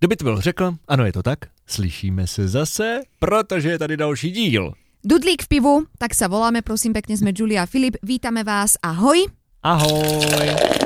Kdo by to byl řekl? Ano, je to tak. Slyšíme se zase, protože je tady další díl. Dudlík v pivu, tak sa voláme, prosím pekne, sme Julia a Filip. Vítame vás, ahoj. Ahoj.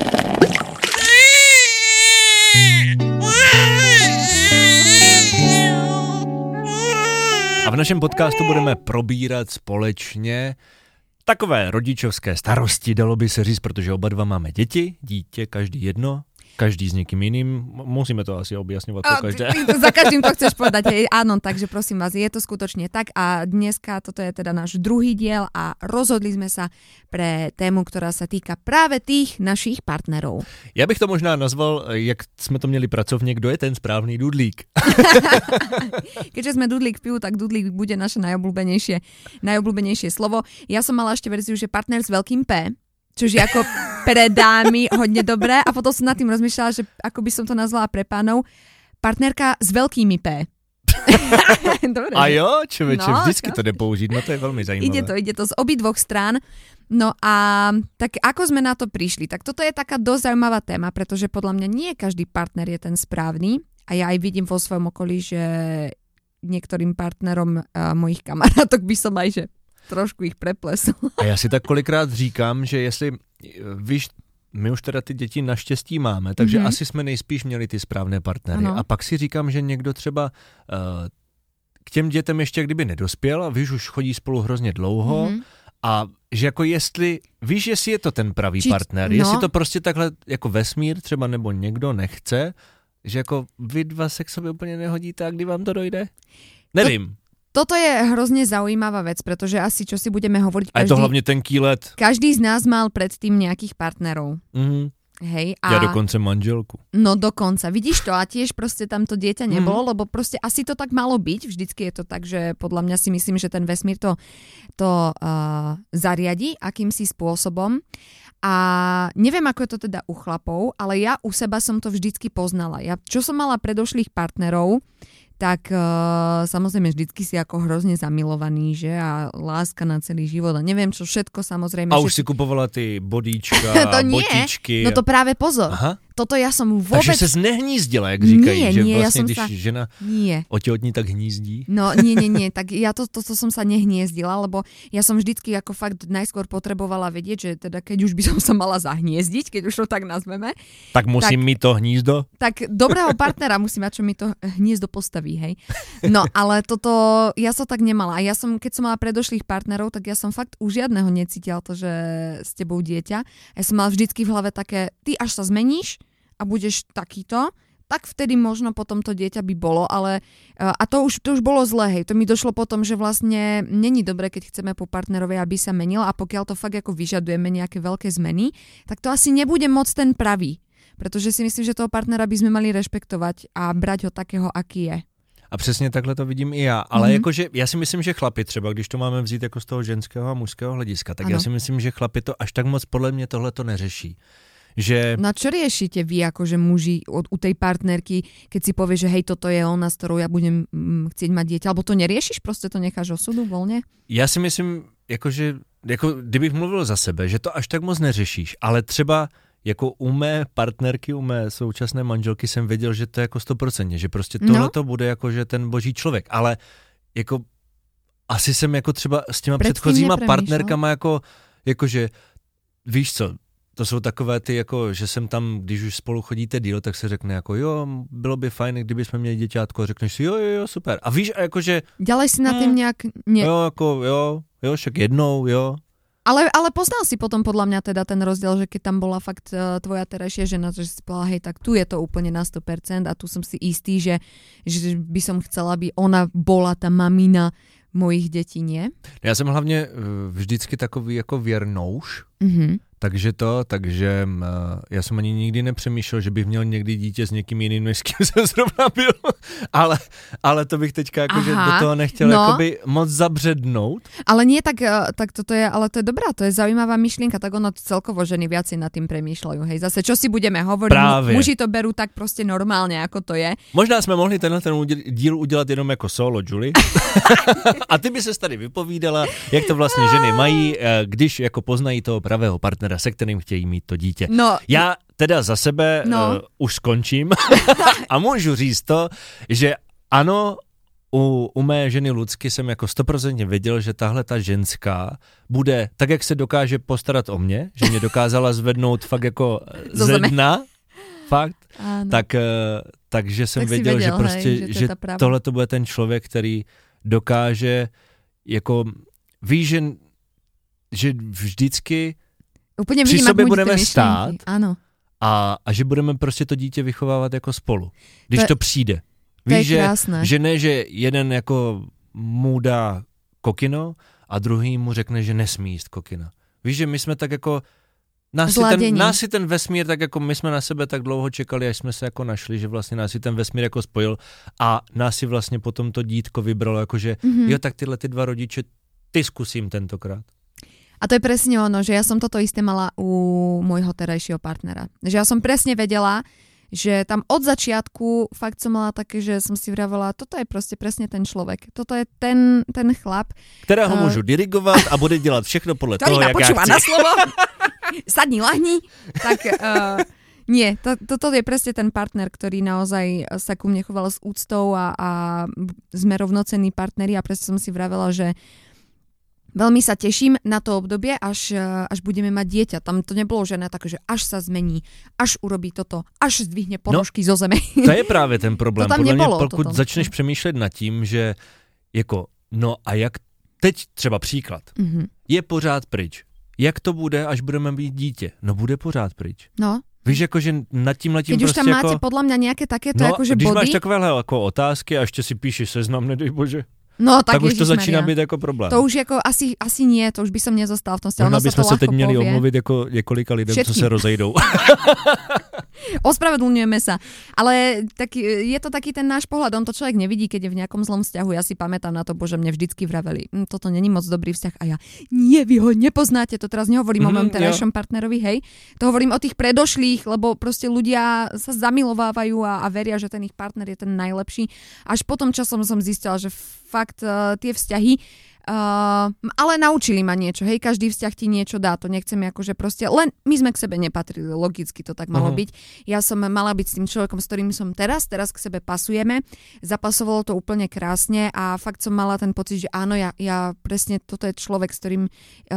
A v našem podcastu budeme probírat společně takové rodičovské starosti, dalo by se říct, protože oba dva máme děti, dítě, každý jedno. Každý s niekým iným. Musíme to asi objasňovať po každé. Za každým to chceš povedať. Hej. Áno, takže prosím vás, je to skutočne tak. A dneska toto je teda náš druhý diel a rozhodli sme sa pre tému, ktorá sa týka práve tých našich partnerov. Ja bych to možná nazval, jak sme to měli pracovne, kdo je ten správný dudlík. Keďže sme dudlík v pivu, tak dudlík bude naše najobľúbenejšie slovo. Ja som mala ešte verziu, že partner s veľkým P, čož je ako pre dámy hodne dobré a potom som nad tým rozmýšľala, že ako by som to nazvala pre pánov, partnerka s veľkými P. Dobre. A jo, človeče, vždycky to jde použiť, no to je veľmi zajímavé. Ide to z obidvoch strán. No a tak ako sme na to prišli? Tak toto je taká dosť zaujímavá téma, pretože podľa mňa nie každý partner je ten správny a ja aj vidím vo svojom okolí, že niektorým partnerom mojich kamarátok by som aj, že trošku ich preplesl. A já si tak kolikrát říkám, že jestli, víš, my už teda ty děti naštěstí máme, takže asi jsme nejspíš měli ty správné partnery. Ano. A pak si říkám, že někdo třeba k těm dětem ještě kdyby nedospěl a víš, už chodí spolu hrozně dlouho a že jako jestli je to ten pravý partner, jestli to prostě takhle jako vesmír třeba nebo někdo nechce, že jako vy dva se k sobě úplně nehodíte a kdy vám to dojde? Nevím. Toto je hrozne zaujímavá vec, pretože asi čo si budeme hovoriť... A je to hlavne tenký let. Každý z nás mal predtým nejakých partnerov. Hej, a... Ja dokonce manželku. No dokonca. Vidíš to? A tiež proste tam to dieťa nebolo, lebo proste asi to tak malo byť. Vždycky je to tak, že podľa mňa si myslím, že ten vesmír to zariadi akýmsi spôsobom. A neviem, ako je to teda u chlapov, ale ja u seba som to vždycky poznala. Ja, čo som mala predošlých partnerov, tak samozrejme vždycky si ako hrozne zamilovaný, že? A láska na celý život. A neviem, čo všetko samozrejme. A už si kupovala ty bodíčka a botičky. No to práve pozor. Aha. Toto ja som vôbec... Takže ses nehnízdila, jak říkají, že nie, vlastne, ja když žena otehotní, tak hnízdí. No nie, tak ja to som sa nehniezdila, lebo ja som vždycky ako fakt najskôr potrebovala vedieť, že teda keď už by som sa mala zahniezdiť, keď už to tak nazveme. Tak musím mi to hnízdo? Tak dobrého partnera musí mať, čo mi to hniezdo postaví, hej. No, ale toto, ja som tak nemala. A ja som, keď som mala predošlých partnerov, tak ja som fakt u žiadneho necítila to, že s tebou dieťa. Ja som mala vždycky v hlave také, ty až sa zmeníš a budeš takýto, tak vtedy možno potom to dieťa by bolo, ale a to už bolo zlé, hej. To mi došlo potom, že vlastne není dobré, keď chceme po partnerovi, aby sa menil a pokiaľ to fakt ako vyžadujeme nejaké veľké zmeny, tak to asi nebude moc ten pravý. Pretože si myslím, že toho partnera by sme mali rešpektovať a brať ho takého, aký je. A přesně takhle to vidím i já, ale jakože já si myslím, že chlapi třeba, když to máme vzít jako z toho ženského a mužského hlediska, tak já si myslím, že chlapi to až tak moc podle mě tohle to neřeší. Že... No a čo riešite vy akože muži u tej partnerky, keď si povie, že hej, toto je ona, s ktorou ja budem chcieť mať dieťa, alebo to neriešiš, proste to necháš osudu voľne? Já si myslím, kdybych mluvil za sebe, že to až tak moc neřešíš, ale třeba jako u mé partnerky, u mé současné manželky jsem věděl, že to je jako 100%, že prostě tohle to bude jako, že ten boží člověk, ale jako asi jsem jako třeba s těma předchozíma partnerkama jakože víš co, to jsou takové ty, jako, že jsem tam, když už spolu chodíte díl, tak se řekne jako jo, bylo by fajn, kdyby jsme měli děťátko a řekneš si jo, super. A víš, jakože... Ďalej si na tým nejak... Jo, však jednou, jo. Ale poznal si potom podľa mňa teda ten rozdiel, že keď tam bola fakt tvoja terajšia žena, že si povedala, hej, tak tu je to úplne na 100% a tu som si istý, že by som chcela, aby ona bola tá mamina mojich detí, nie? Já jsem hlavně vždycky takový jako věrnouš, takže já jsem ani nikdy nepřemýšlel, že bych měl někdy dítě s někým jiným, než s kým jsem zrovna byl, ale to bych teďka jakože do toho nechtěl jakoby moc zabřednout. Ale nie, tak toto je, ale to je dobrá, to je zaujímavá myšlienka, tak ono celkovo ženy viacej nad tým premýšľajú, hej, zase čo si budeme hovoriť, muži to berú tak proste normálne, ako to je. Možná jsme mohli ten díl udělat jenom jako solo, Julie. A ty by ses tady vypovídala, jak to vlastně ženy mají, když jako poznají toho pravého partnera, se kterým chtějí mít to dítě. No, já teda za sebe už skončím a můžu říct to, že ano, u mé ženy Lucky jsem jako 100% věděl, že tahle ta ženská bude, tak jak se dokáže postarat o mě, že mě dokázala zvednout fakt jako ze dna, fakt, takže jsem věděl, že prostě, že tohle to bude ten člověk, který dokáže jako, ví, že vždycky úplně při sobě budeme stát a že budeme prostě to dítě vychovávat jako spolu, když to přijde. Víš, že ne, že jeden jako mu dá kokino a druhý mu řekne, že nesmí jíst kokina. Víš, že my jsme tak jako, nás si ten vesmír, tak jako my jsme na sebe tak dlouho čekali, až jsme se jako našli, že vlastně nás si ten vesmír jako spojil a nás si vlastně potom to dítko vybralo, jakože jo, tak tyhle ty dva rodiče, ty zkusím tentokrát. A to je presne ono, že ja som toto isté mala u môjho terajšieho partnera. Že ja som presne vedela, že tam od začiatku fakt som mala také, že som si vravela, toto je proste presne ten človek. Toto je ten chlap. Ktorého môžu dirigovať a bude dělat všechno podle toho, jak ja chci. na slovo. Sadni, lahni. Tak nie, toto je presne ten partner, ktorý naozaj sa ku mne choval s úctou a sme rovnocenní partneri a presne som si vravela, že veľmi sa teším na to obdobie, až budeme mať dieťa. Tam to nebolo žené také, že až sa zmení, až urobí toto, až zdvihne ponožky zo zeme. To je právě ten problém. To tam nebolo. Pokud začneš přemýšlet nad tím, že jako, no a jak teď třeba příklad, je pořád pryč. Jak to bude, až budeme mít dítě? No bude pořád pryč. No. Víš, jakože nad tím Keď prostě už tam máte podľa mňa nejaké takéto akože body. Když máš takovéhle jako otázky a ještě si píšeš seznam, nedej bože. No, tak už to začíná být jako problém. To už jako asi nie, to už by som nezostal v tom vzťahu. Možná bychom se teď měli omluvit jako několika lidem, všetkým, co se rozejdou. Ospravedlňujeme sa. Ale tak je to taký ten náš pohľad, on to človek nevidí, keď je v nejakom zlom vzťahu. Ja si pamätám na to, bože, mne vždycky vraveli, toto není moc dobrý vzťah a ja, nie, vy ho nepoznáte, to teraz nehovorím o mojom terajšom partnerovi, hej. To hovorím o tých predošlých, lebo proste ľudia sa zamilovávajú a veria, že ten ich partner je ten najlepší. Až potom časom som zistila, že fakt tie vzťahy ale naučili ma niečo, hej, každý vzťah ti niečo dá, to nechceme akože proste, len my sme k sebe nepatrili, logicky to tak malo byť. Ja som mala byť s tým človekom, s ktorým som teraz k sebe pasujeme, zapasovalo to úplne krásne a fakt som mala ten pocit, že áno, ja presne toto je človek, s ktorým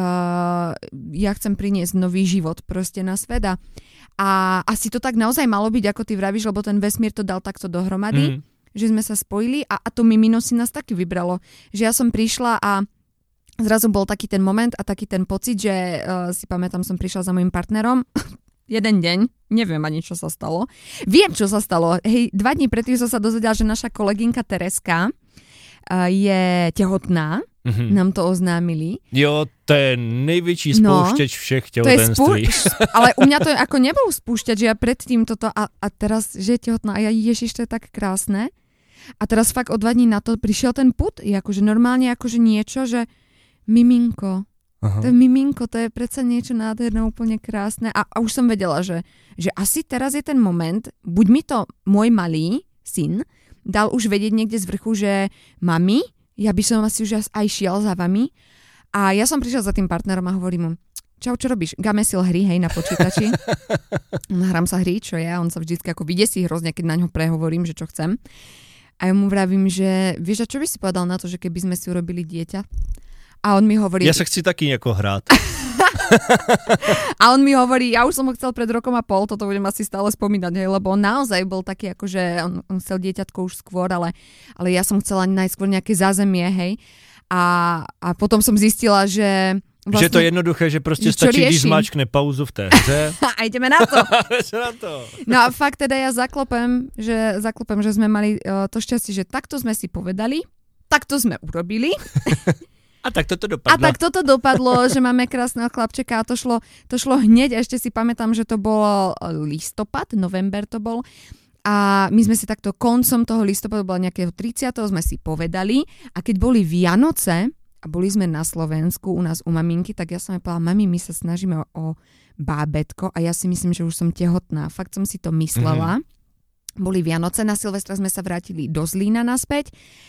ja chcem priniesť nový život proste na svet a asi to tak naozaj malo byť, ako ty vravíš, lebo ten vesmír to dal takto dohromady. Že sme sa spojili a to mimino si nás taky vybralo. Že ja som prišla a zrazu bol taký ten moment a taký ten pocit, že si pamätám, som prišla za mojim partnerom jeden deň, neviem ani čo sa stalo. Viem, čo sa stalo. Hej, 2 dní predtým som sa dozvedela, že naša kolegynka Tereska je tehotná. Nám to oznámili. Jo, to je největší spouštěč všech těhotenství. Ale u mňa to je ako nebol spúšťač, že ja predtým toto a teraz, že je tehotná a ja ježiš, to je tak krásne. A teraz fakt o 2 dní na to prišiel ten put, je akože normálne akože niečo, že miminko. Aha. To je miminko, to je predsa niečo nádherné, úplne krásne. A už som vedela, že asi teraz je ten moment, buď mi to môj malý syn dal už vedieť niekde z vrchu, že mami, ja by som asi už aj šiel za vami. A ja som prišla za tým partnerom a hovorím mu, čau, čo robíš? Gamesil hry, hej, na počítači. Hrám sa hry, čo je, on sa vždycky ako vydesí hrozne, keď na ňo prehovorím, že čo chcem. A ja mu vravím, že vieš, a čo by si povedal na to, že keby sme si urobili dieťa? A on mi hovorí... Ja sa chci taký nejako hrát. A on mi hovorí, ja už som ho chcel pred 1.5 rokom, toto budem asi stále spomínať, hej, lebo on naozaj bol taký, akože on chcel dieťatko už skôr, ale ja som chcela najskôr nejaké zázemie, hej. A potom som zistila, že... Vlastne, že to je jednoduché, že prostě stačí, když zmáčkne pauzu v té hře. A ideme na to. No a fakt teda ja zaklopem, že sme mali to šťastie, že takto sme si povedali, takto sme urobili. A tak toto dopadlo. A tak toto dopadlo, že máme krásneho chlapčeka a to šlo hneď. A ešte si pamätám, že to bol listopad, november to bol. A my sme si takto koncom toho listopadu, bolo nejakého 30. sme si povedali. A keď boli Vianoce a boli sme na Slovensku u nás u maminky, tak ja som jej povedala, mami, my sa snažíme o bábätko a ja si myslím, že už som tehotná. Fakt som si to myslela. Boli Vianoce, na Silvestra sme sa vrátili do Zlína naspäť.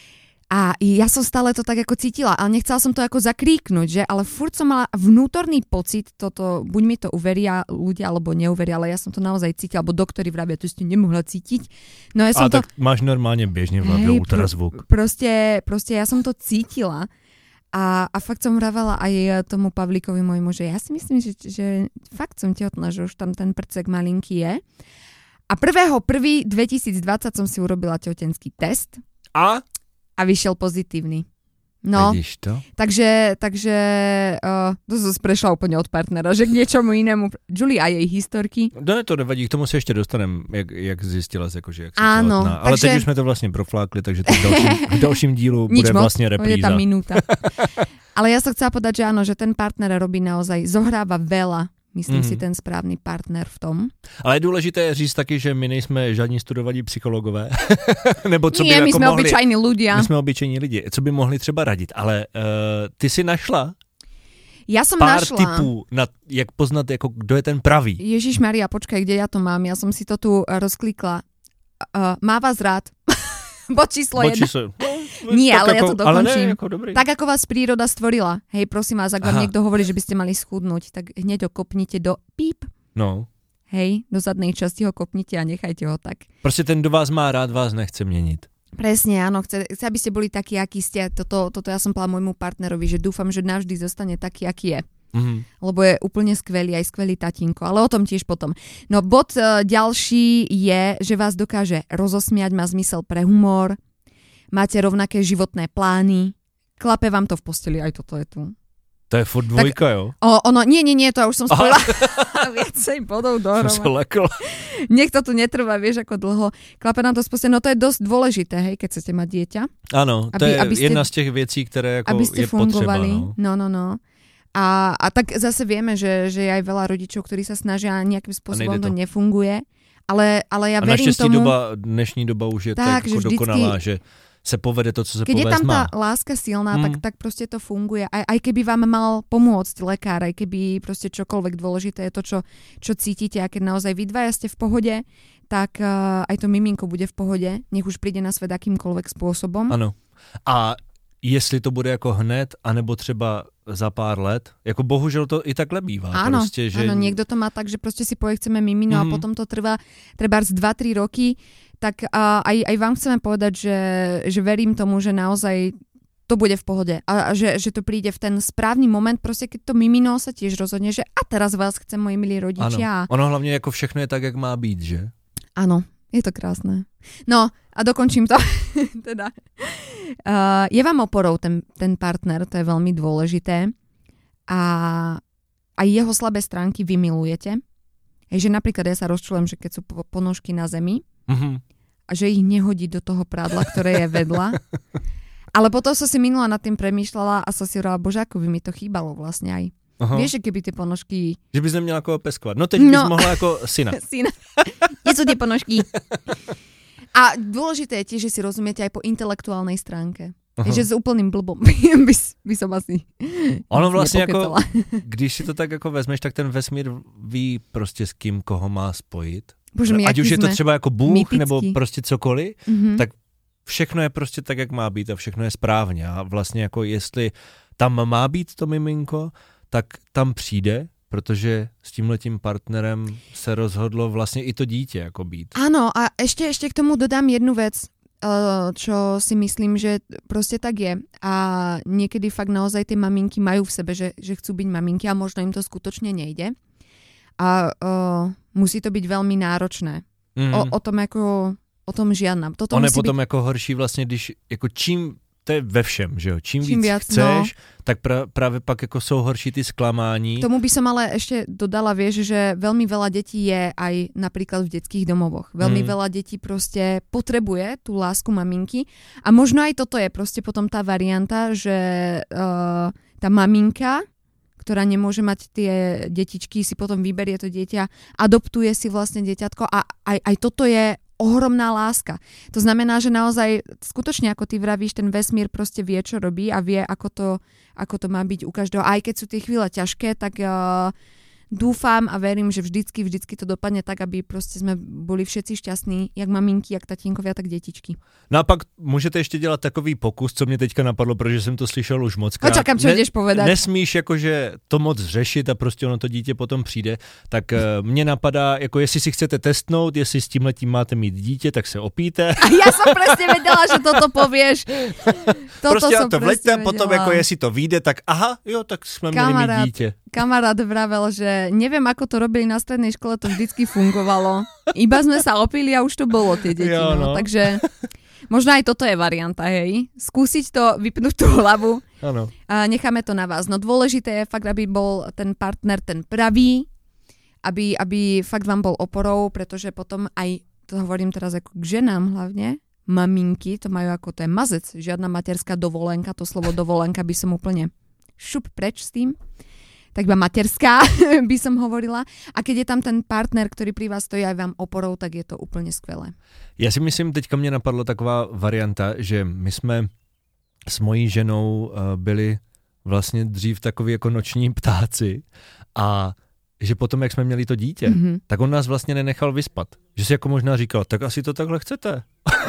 A ja som stále to tak ako cítila, ale nechcela som to ako zakríknuť, že? Ale furt som mala vnútorný pocit, buď mi to uveria ľudia, alebo neuveria, ale ja som to naozaj cítila, alebo doktori vravia, to ste nemohla cítiť. No ja som tak máš normálne bežne v hlavě ultrazvuk. Proste ja som to cítila a fakt som vravala aj tomu Pavlíkovi môjmu, že ja si myslím, že fakt som tehotná, že už tam ten prcek malinký je. A 1.1.2020 som si urobila tehotenský test. A vyšiel pozitívny. No, vidíš to? Takže to som prešla úplne od partnera, že k niečomu inému. Julie a jej historky. No to nevadí, k tomu se ještě dostaneme, jak zjistila, jakože, jak si áno, těhotná. Ale teď už jsme to vlastně proflákli, takže v dalším dílu bude vlastně repríza. Je tam minúta. Ale ja som chcela povedať, že áno, že ten partner robí naozaj, zohráva veľa. Myslím si ten správný partner v tom. Ale je důležité říct taky, že my nejsme žádní studovaní psychologové. Nebo co by my jako jsme mohli, obyčajní ľudia. My jsme obyčejní lidi. Co by mohli třeba radit? Ale ty si našla ja som pár našla tipů, jak poznat, jako, kdo je ten pravý. Ježišmaria, počkaj, kde ja to mám? Ja som si to tu rozklikla. Má vás rád. Bod číslo 1. Nie, ale ja to dokončím. Tak, ako vás príroda stvorila. Hej, prosím vás, ak vám niekto hovorí, že by ste mali schudnúť, tak hneď ho kopnite do píp. No. Hej, do zadnej časti ho kopnite a nechajte ho tak. Prostě ten, kdo vás má rád, vás nechce měnit. Presne, áno. Chce, aby ste boli takí, akí ste. Toto ja som povedala môjmu partnerovi, že dúfam, že navždy zostane taký, aký je. Lebo je úplne skvelý, aj skvelý tatínko, ale o tom tiež potom. No bod ďalší je, že vás dokáže rozosmiať, má zmysel pre humor, máte rovnaké životné plány, klape vám to v posteli, aj toto je tu. To je furt dvojka, jo? Nie, to ja už som spojila viacej bodov dohromady. Som sa lekla. Nech to tu netrvá, vieš, ako dlho. Klape nám to v posteli, no to je dosť dôležité, hej, keď chcete mať dieťa. Áno, to je jedna z těch věcí, které ako je fungovali. Potřeba. No. A tak zase vieme, že je aj veľa rodičov, ktorí sa snažia a nejakým spôsobom to nefunguje. Ale ja verím tomu... dnešní doba už je tak jako dokonalá, že se povede to, co se povést má. Keď je tam tá láska silná, tak proste to funguje. Aj keby vám mal pomôcť lekár, aj keby proste čokoľvek dôležité je to, čo cítite, a keď naozaj vy dvaja ste v pohode, tak aj to miminko bude v pohode, nech už príde na svet akýmkoľvek spôsobom. Ano. A jestli to bude jako hned, anebo třeba za pár let, jako bohužel to i takhle bývá. Áno, prostě, že... áno, niekto to má tak, že proste si povie, chceme mimino a potom to trvá z 2-3 roky, tak aj vám chceme povedať, že verím tomu, že naozaj to bude v pohode a že to príde v ten správny moment, proste keď to mimino sa tiež rozhodne, že a teraz vás chcem moji milí rodičia. Ano, ono hlavne jako všechno je tak, jak má být, že? Áno, je to krásne. No a dokončím to. teda. Je vám oporou ten partner, to je veľmi dôležité. A aj jeho slabé stránky vy milujete. Že napríklad ja sa rozčulujem, že keď sú ponožky na zemi a že ich nehodí do toho prádla, ktoré je vedľa. Ale potom som si minula nad tým premýšľala a som si hovorila, bože, ako by mi to chýbalo vlastne aj. Aha. Vieš, že keby tie ponožky... Že bys neměla koho peskovat. No teď bys mohla jako syna. Syna. Kde sú tie ponožky? A dôležité je tiež, že si rozumiete aj po intelektuálnej stránke. Že s úplným blbom by som asi ono vlastně jako, když si to tak jako vezmeš, tak ten vesmír ví prostě s kým koho má spojit. Bože, ať už je to třeba jako Bůh mytický. Nebo prostě cokoliv, tak všechno je prostě tak, jak má být a všechno je správně. A vlastně jako jestli tam má být to miminko, tak tam přijde, protože s tímhletím partnerem se rozhodlo vlastně i to dítě jako být. Áno, a ešte k tomu dodám jednu vec, čo si myslím, že proste tak je. A niekedy fakt naozaj tie maminky majú v sebe, že chcú byť maminky a možno im to skutočne nejde. A musí to byť veľmi náročné. O tom žiadna. Toto je potom jako horší vlastně, když jako čím to je ve všem, že jo? Čím víc chceš, tak práve pak jako jsou horší ty sklamání. Tomu by som ale ešte dodala, vieš, že veľmi veľa detí je aj napríklad v detských domovoch. Veľmi veľa detí proste potrebuje tú lásku maminky a možno aj toto je proste potom tá varianta, že tá maminka, ktorá nemôže mať tie detičky, si potom vyberie to dieťa, adoptuje si vlastne dieťatko a aj toto je ohromná láska. To znamená, že naozaj skutočne, ako ty vravíš, ten vesmír proste vie, čo robí a vie, ako to má byť u každého. Aj keď sú tie chvíle ťažké, tak dúfam a verím, že vždycky to dopadne tak, aby proste sme boli všetci šťastní, jak maminky, jak tatínkovia, tak detičky. No a pak můžete ještě dělat takový pokus, co mě teďka napadlo, protože jsem to slyšel už mockrát. Čakám, čo ideš povedať. Nesmíš jakože to moc řešit a prostě ono to dítě potom přijde, tak mně napadá, jako jestli si chcete testnout, jestli s tímhletím máte mít dítě, tak se opíte. A ja som presne vedela, že toto povieš. Prostě a to vleďte, potom jako jestli to vyjde, tak aha, jo, tak jsme měli mít dítě. Kamarát vravel, že neviem, ako to robili na strednej škole, to vždycky fungovalo. Iba sme sa opili a už to bolo tie deti. Jo, no. Takže možno aj toto je varianta, hej. Skúsiť to, vypnúť tú hlavu. Ano. A necháme to na vás. No dôležité je fakt, aby bol ten partner ten pravý, aby fakt vám bol oporou, pretože potom aj, to hovorím teraz ako k ženám hlavne, maminky, to majú ako, to je mazec, žiadna materská dovolenka, to slovo dovolenka by som úplne šup preč s tým. Tak iba materská by som hovorila. A keď je tam ten partner, ktorý pri vás stojí aj vám oporou, tak je to úplne skvelé. Já si myslím, teďka mě napadla taková varianta, že my jsme s mojí ženou byli vlastně dřív takový jako noční ptáci a že potom, jak jsme měli to dítě, tak on nás vlastně nenechal vyspat. Že si jako možná říkal, tak asi to takhle chcete.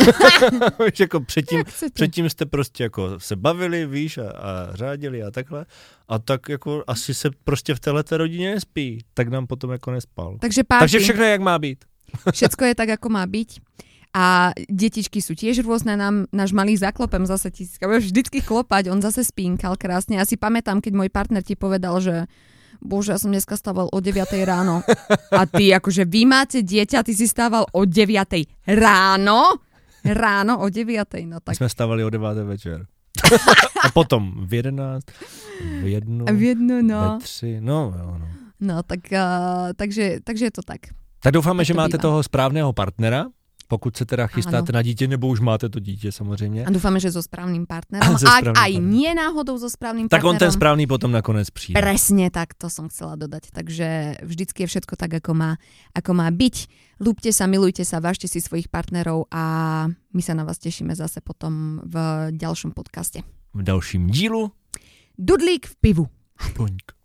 Že jako předtím jste prostě jako se bavili, víš, a řádili a takhle. A tak jako asi se prostě v téhleté rodině nespí. Tak nám potom jako nespal. Takže všechno je, jak má být. Všetko je tak, ako má byť. A detičky sú tiež rôzne, náš malý zaklopem zase vždycky klopať, on zase spínkal krásne. Ja si pamätám, keď môj partner ti povedal, že bože, ja som dneska stával o 9 ráno. A ty, akože vy máte dieťa, ty si stával o 9 ráno? Ráno o 9, no tak. My sme stávali o 9 večer. A potom v 11, v 1, no. ve 3, no. No, tak, takže je to tak. Tak doufáme, že máte bývá. toho správného partnera, pokud se teda chystáte na dítě, nebo už máte to dítě samozřejmě. A dúfame, že so správnym partnerom. Ak aj nie náhodou so správnym tak partnerom. on ten správný potom nakonec přijde. Presne tak, to som chcela dodať. Takže vždycky je všetko tak, ako má byť. Ľúbte sa, milujte sa, vážte si svojich partnerov a my sa na vás tešíme zase potom v ďalšom podcaste. V dalším dílu. Dudlík v pivu. Špoňk.